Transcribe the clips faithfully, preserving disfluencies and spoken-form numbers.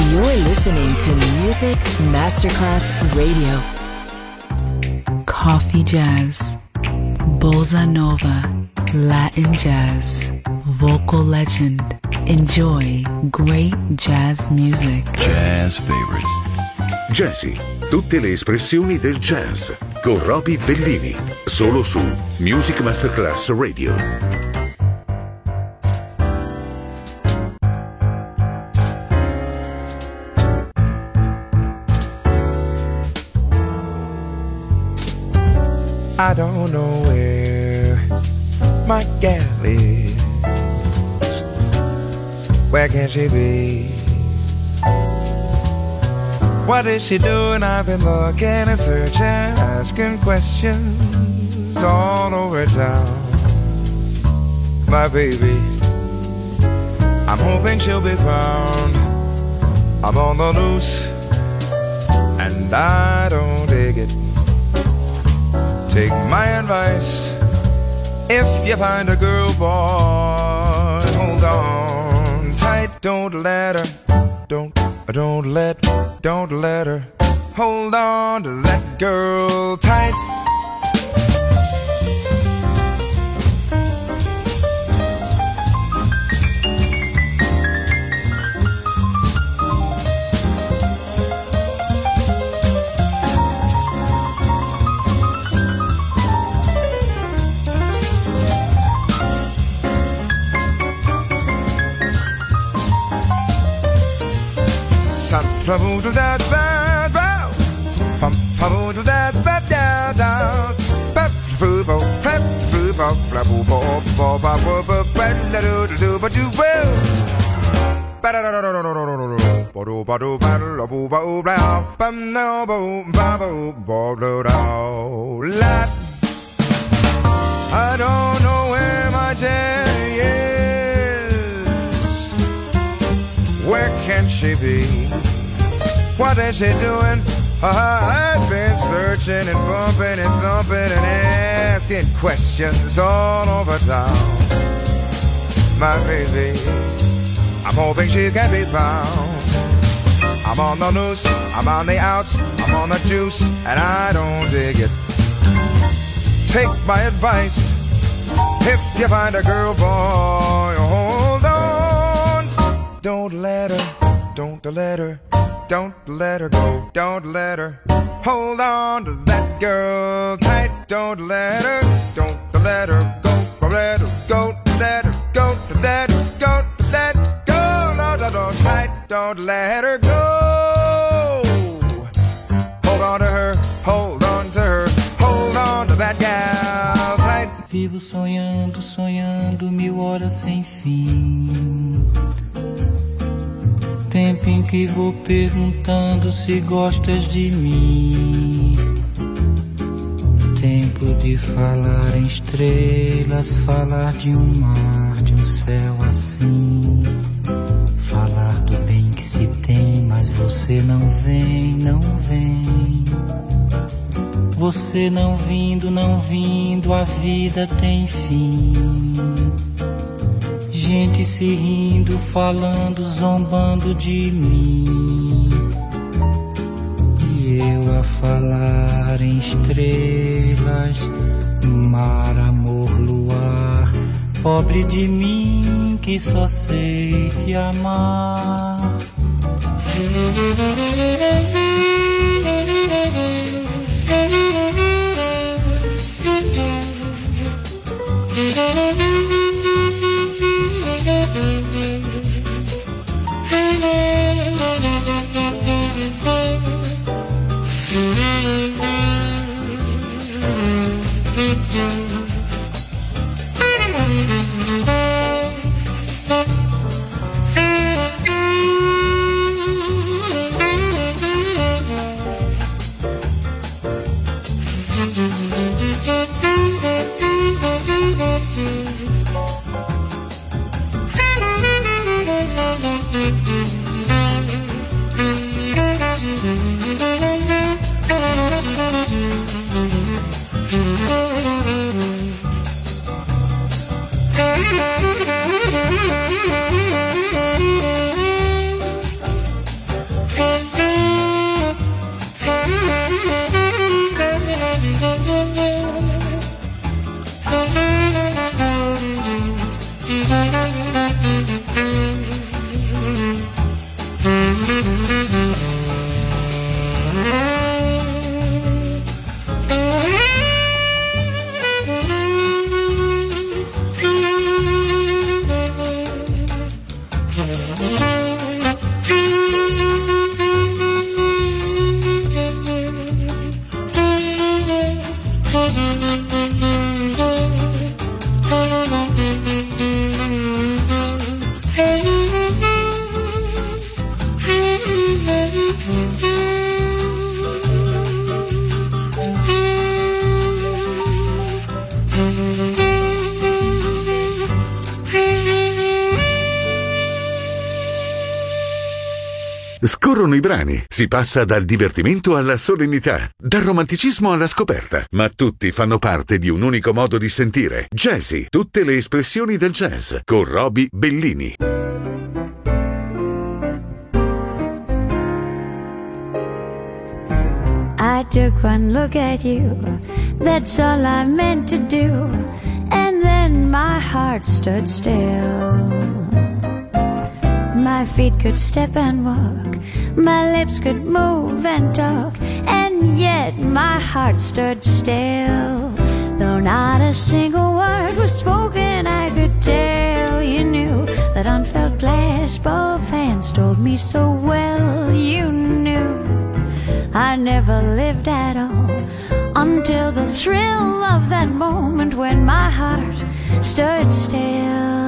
You're listening to Music Masterclass Radio. Coffee jazz, bossa nova, Latin jazz, vocal legend. Enjoy great jazz music. Jazz favorites. Jazzy, tutte le espressioni del jazz con Roby Bellini, solo su Music Masterclass Radio. I don't know where my gal is. Where can she be? What is she doing? I've been looking and searching, asking questions all over town. My baby, I'm hoping she'll be found. I'm on the loose and I don't dig it. Take my advice. If you find a girl, boy, hold on tight. Don't let her, don't, don't let, don't let her. Hold on to that girl tight. Faboodle that's bad, bow. Fum faboodle that's bad, down, down. Pep foobo, pep foobo, flaboo, bo, bo, ba, bo, bo, ba, da, do, do, do, ba, do, well. Ba, da, da, da, da, da, da, da, da, da. Ba, do, ba, do, ba, da, bo, ba, o, blah. Bum, no, bo, ba, bo, bo, do, da, la. I don't know where my Jenny is. Where can she be? What is she doing? Uh, I've been searching and bumping and thumping and asking questions all over town. My baby, I'm hoping she can be found. I'm on the loose, I'm on the outs, I'm on the juice, and I don't dig it. Take my advice. If you find a girl, boy, hold on. Don't let her, don't let her. Don't let her go, don't let her. Hold on to that girl tight. Don't let her, don't let her go. Don't let her go, let her go, let her go, let her go. No, no, no, tight. Don't let her go. Hold on to her, hold on to her. Hold on to that gal tight. Vivo sonhando, sonhando mil horas sem fim. Tempo em que vou perguntando se gostas de mim. Tempo de falar em estrelas, falar de um mar, de um céu assim. Falar do bem que se tem, mas você não vem, não vem. Você não vindo, não vindo, a vida tem fim. Gente se rindo, falando, zombando de mim. E eu a falar em estrelas, mar, amor, luar. Pobre de mim que só sei te amar. Scorrono i brani, si passa dal divertimento alla solennità, dal romanticismo alla scoperta, ma tutti fanno parte di un unico modo di sentire. Jazzy, tutte le espressioni del jazz, con Roby Bellini. I took one look at you, that's all I meant to do, and then my heart stood still. My feet could step and walk, my lips could move and talk, and yet my heart stood still. Though not a single word was spoken, I could tell you knew that unfelt clasp of hands told me so well. You knew I never lived at all until the thrill of that moment when my heart stood still.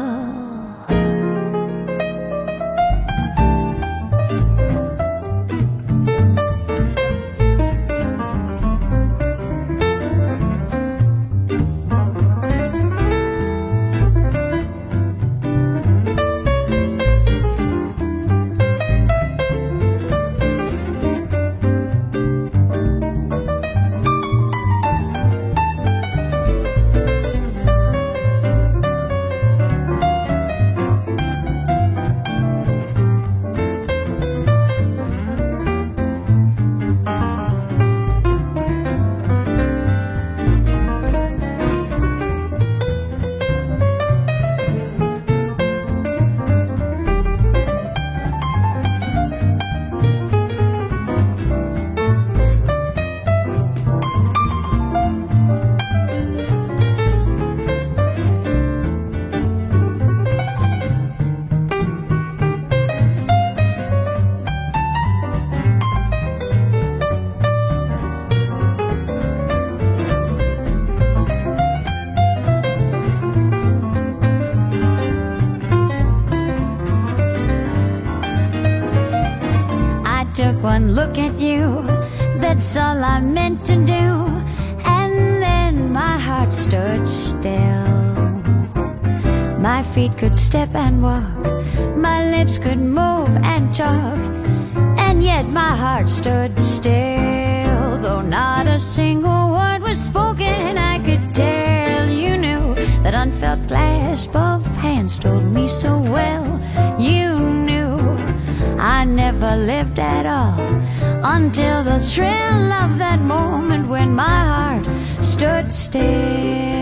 Took one look at you, that's all I meant to do, and then my heart stood still. My feet could step and walk, my lips could move and talk, and yet my heart stood still. Though not a single word was spoken, I could tell you knew that unfelt clasp of hands told me so well. You knew I never lived at all until the thrill of that moment when my heart stood still.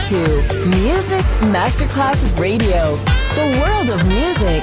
to Music Masterclass Radio, the world of music.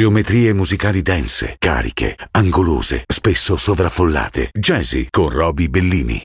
Geometrie musicali dense, cariche, angolose, spesso sovraffollate. Jazzy con Roby Bellini.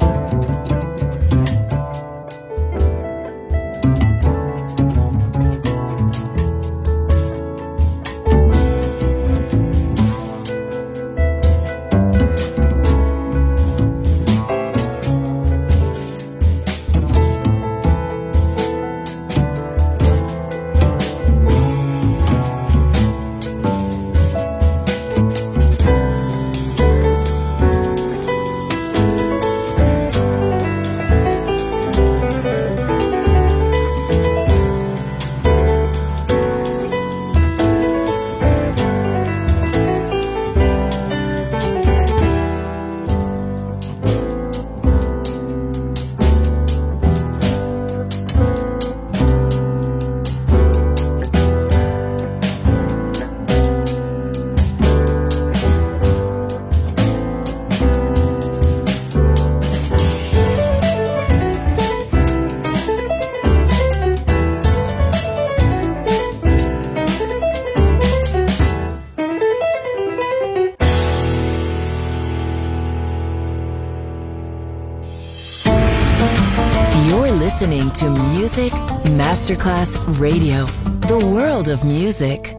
Listening to Music Masterclass Radio, the world of music.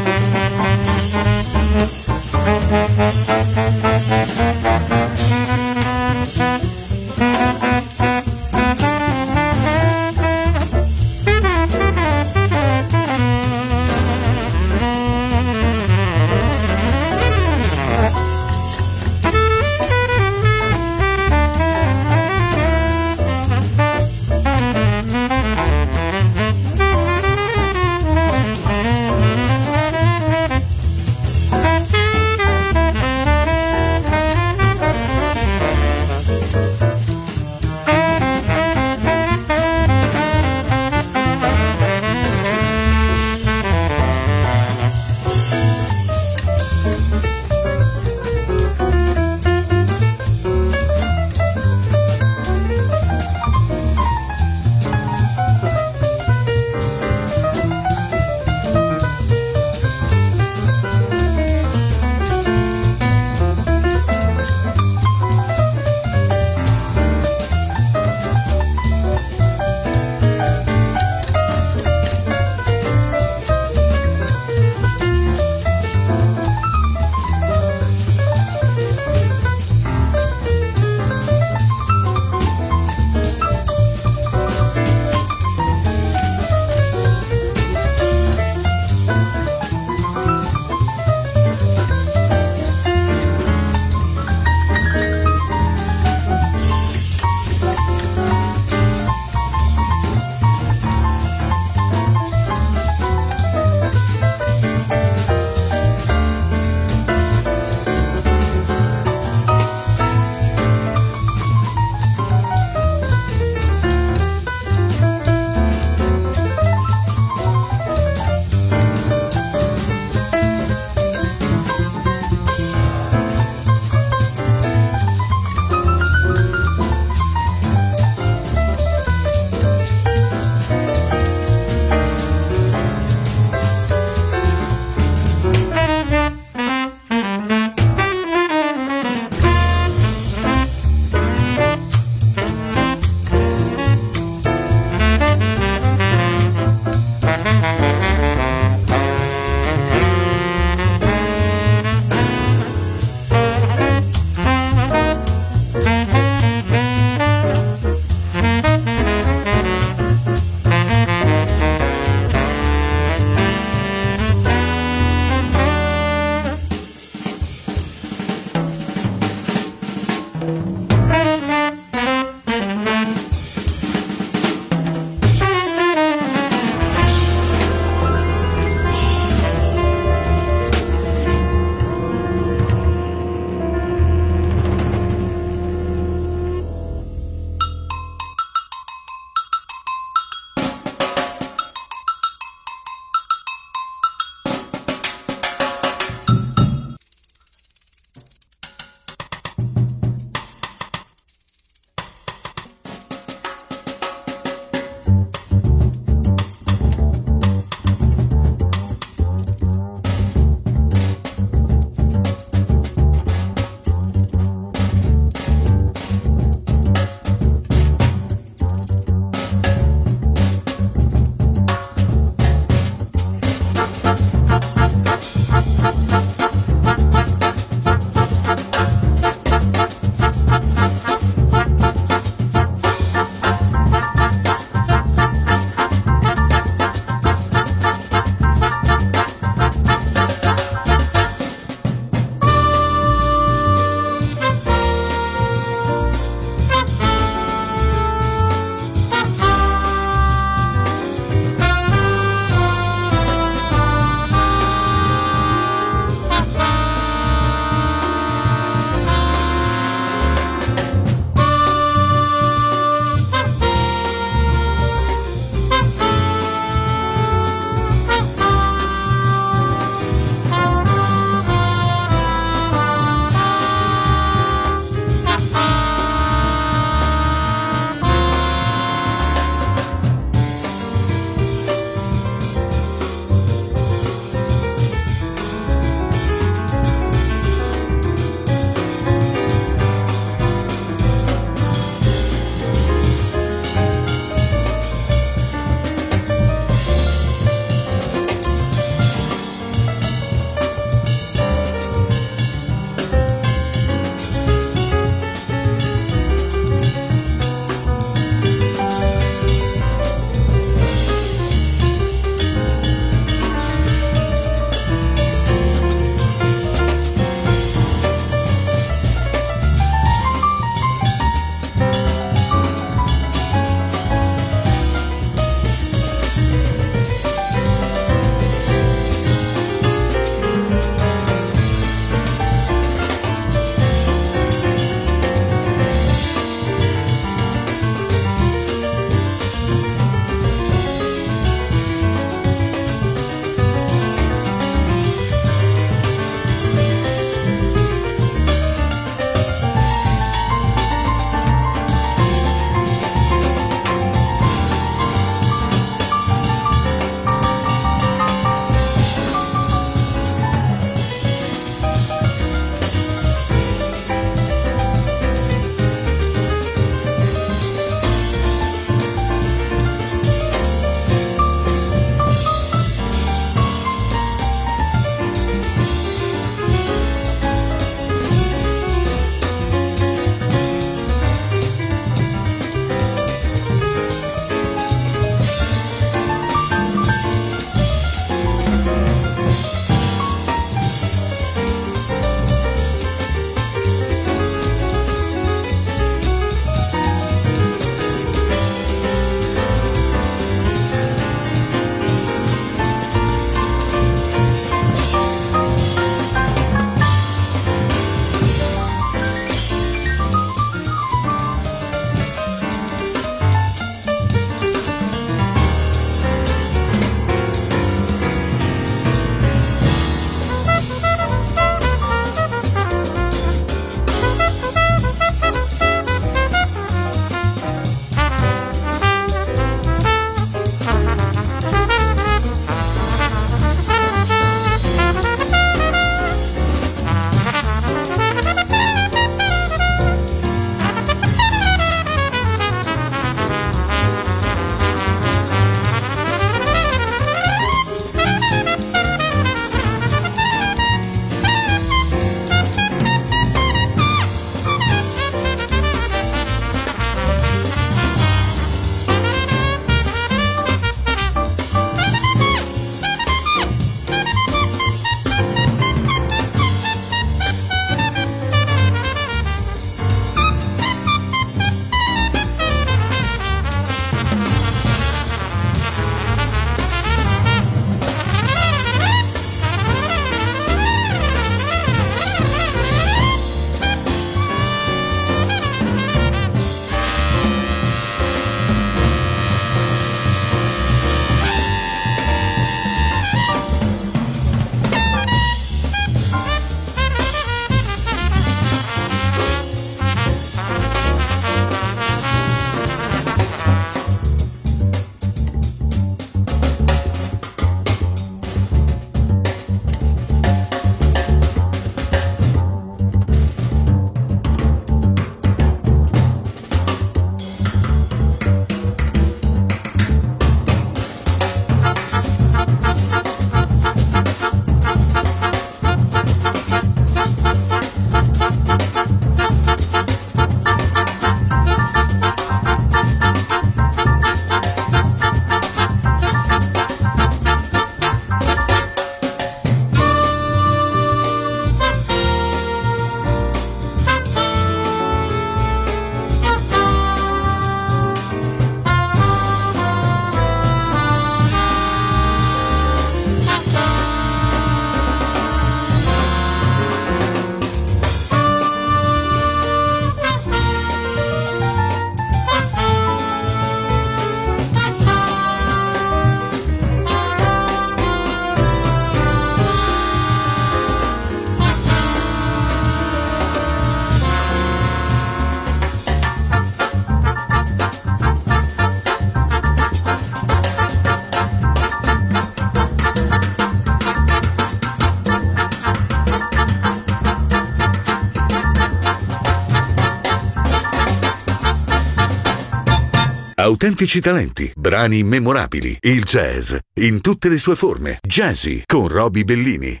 Autentici talenti, brani memorabili, il jazz in tutte le sue forme. Jazzy con Roby Bellini.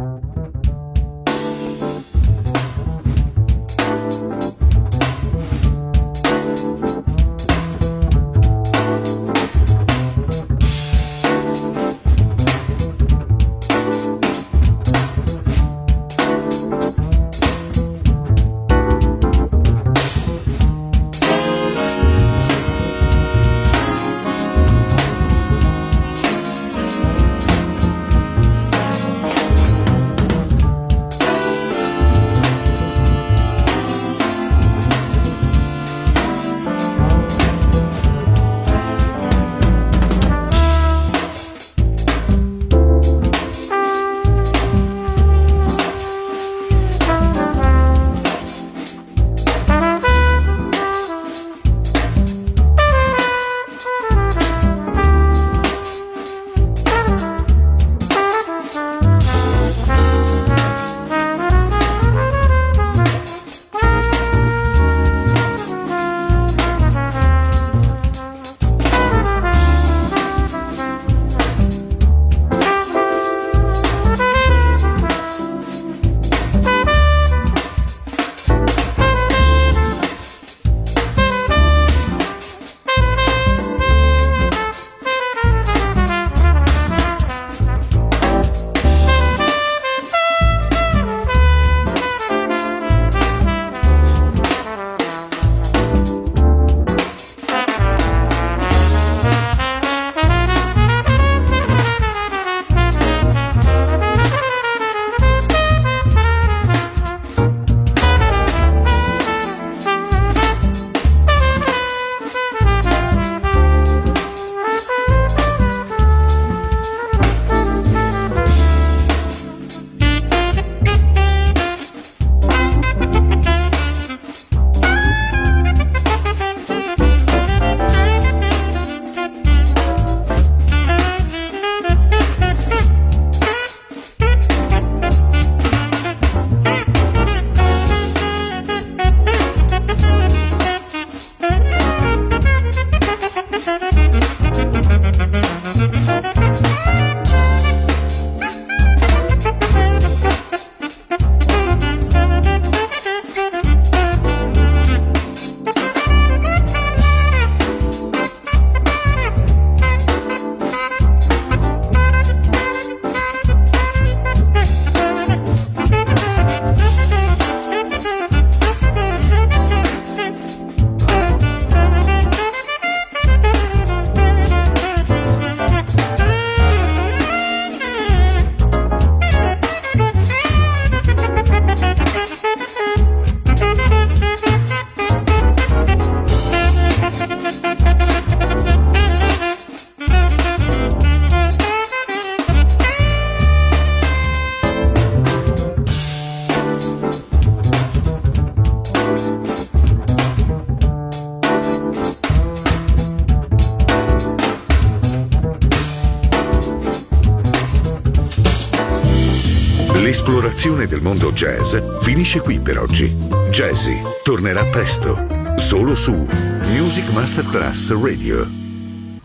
L'esplorazione del mondo jazz finisce qui per oggi. Jazzy tornerà presto, solo su Music Masterclass Radio.